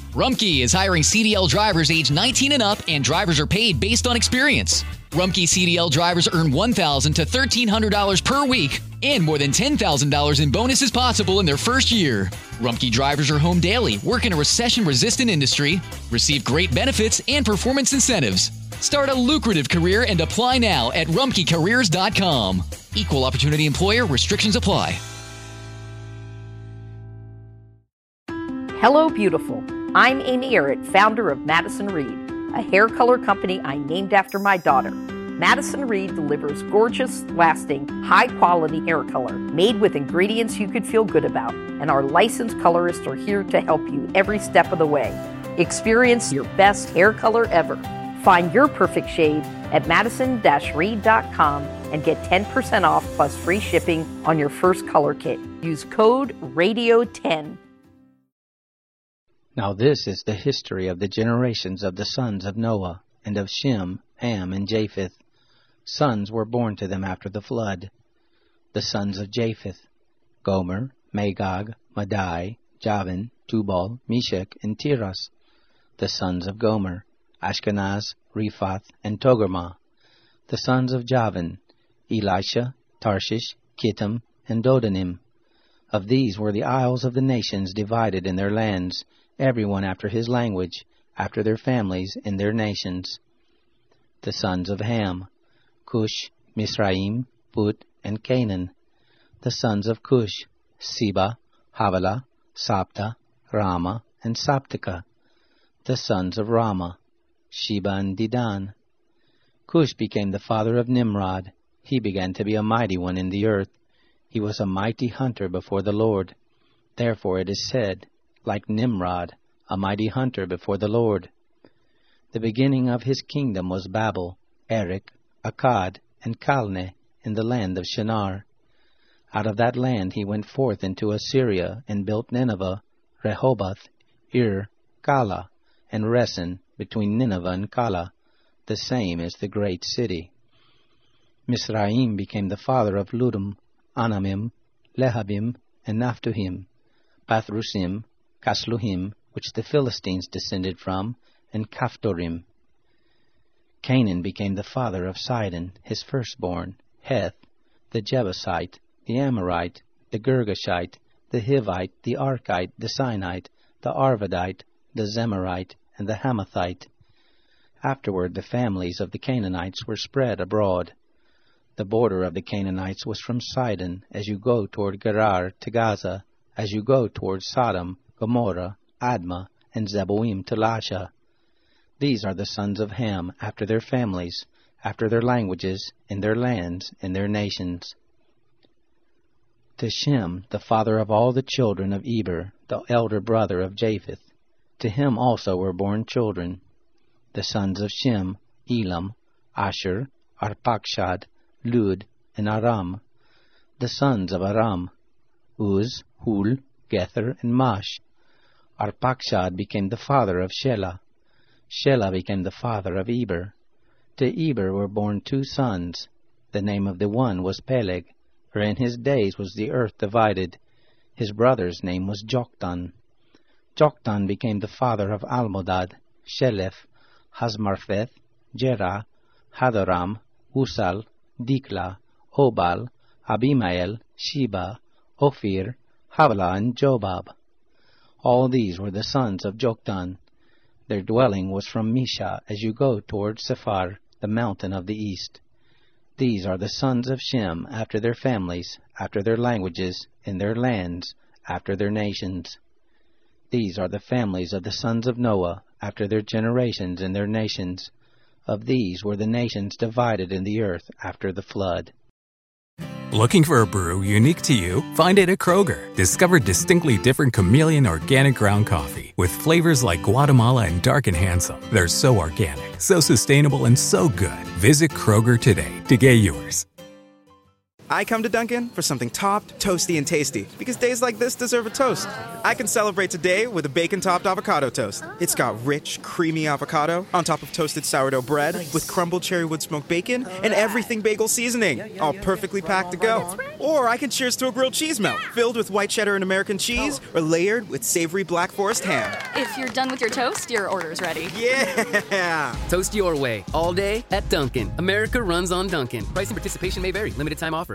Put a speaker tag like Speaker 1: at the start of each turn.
Speaker 1: Rumpke is hiring CDL drivers age 19 and up, and drivers are paid based on experience. Rumpke CDL drivers earn $1,000 to $1,300 per week, and more than $10,000 in bonuses possible in their first year. Rumpke drivers are home daily, work in a recession-resistant industry, receive great benefits and performance incentives. Start a lucrative career and apply now at rumpkecareers.com. Equal opportunity employer. Restrictions apply.
Speaker 2: Hello, beautiful. I'm Amy Errett, founder of Madison Reed, a hair color company I named after my daughter. Madison Reed delivers gorgeous, lasting, high-quality hair color made with ingredients you could feel good about, and our licensed colorists are here to help you every step of the way. Experience your best hair color ever. Find your perfect shade at madison-reed.com and get 10% off plus free shipping on your first color kit. Use code RADIO10.
Speaker 3: Now this is the history of the generations of the sons of Noah, and of Shem, Ham, and Japheth. Sons were born to them after the flood. The sons of Japheth: Gomer, Magog, Madai, Javan, Tubal, Meshech, and Tiras. The sons of Gomer: Ashkenaz, Rephath, and Togarmah. The sons of Javan: Elisha, Tarshish, Kittim, and Dodanim. Of these were the isles of the nations divided in their lands, every one after his language, after their families, in their nations. The sons of Ham: Cush, Mizraim, Put, and Canaan. The sons of Cush: Seba, Havilah, Sabta, Rama, and Sabteka. The sons of Rama: Sheba and Dedan. Cush became the father of Nimrod. He began to be a mighty one in the earth. He was a mighty hunter before the Lord. Therefore it is said, like Nimrod, a mighty hunter before the Lord. The beginning of his kingdom was Babel, Erech, Akkad, and Calneh in the land of Shinar. Out of that land he went forth into Assyria, and built Nineveh, Rehoboth, Ir, Calah, and Resen, between Nineveh and Calah. The same is the great city. Mizraim became the father of Ludum, Anamim, Lehabim, and Naphtuhim, Pathrusim, Casluhim, which the Philistines descended from, and Caphtorim. Canaan became the father of Sidon, his firstborn, Heth, the Jebusite, the Amorite, the Girgashite, the Hivite, the Archite, the Sinite, the Arvadite, the Zemarite, and the Hamathite. Afterward the families of the Canaanites were spread abroad. The border of the Canaanites was from Sidon, as you go toward Gerar to Gaza, as you go toward Sodom, Gomorrah, Admah, and Zeboim to Lasha. These are the sons of Ham, after their families, after their languages, in their lands, in their nations. To Shem, the father of all the children of Eber, the elder brother of Japheth, to him also were born children. The sons of Shem: Elam, Asher, Arpachshad, Lud, and Aram. The sons of Aram: Uz, Hul, Gether, and Mash. Arpachshad became the father of Shelah. Shelah became the father of Eber. To Eber were born two sons. The name of the one was Peleg, for in his days was the earth divided. His brother's name was Joktan. Joktan became the father of Almodad, Sheleph, Hazmarpheth, Jerah, Hadoram, Usal, Dikla, Obal, Abimael, Sheba, Ophir, Havilah, and Jobab. All these were the sons of Joktan. Their dwelling was from Misha, as you go toward Sephar, the mountain of the east. These are the sons of Shem, after their families, after their languages, in their lands, after their nations. These are the families of the sons of Noah, after their generations in their nations. Of these were the nations divided in the earth after the flood.
Speaker 4: Looking for a brew unique to you? Find it at Kroger. Discover distinctly different chameleon organic ground coffee with flavors like Guatemala and Dark and Handsome. They're so organic, so sustainable, and so good. Visit Kroger today to get yours.
Speaker 5: I come to Dunkin' for something topped, toasty, and tasty, because days like this deserve a toast. I can celebrate today with a bacon-topped avocado toast. It's got rich, creamy avocado on top of toasted sourdough bread with crumbled cherry wood smoked bacon and everything bagel seasoning, all perfectly packed to go. Or I can cheers to a grilled cheese melt filled with white cheddar and American cheese or layered with savory Black Forest ham.
Speaker 6: If you're done with your toast, your order's ready.
Speaker 5: Yeah!
Speaker 7: Toast your way, all day at Dunkin'. America runs on Dunkin'. Price and participation may vary. Limited time offer.